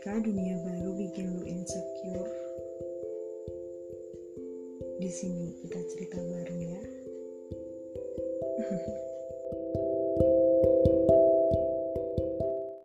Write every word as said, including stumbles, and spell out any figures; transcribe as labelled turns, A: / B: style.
A: Ketika dunia baru bikin lu insecure, di sini kita cerita bareng ya.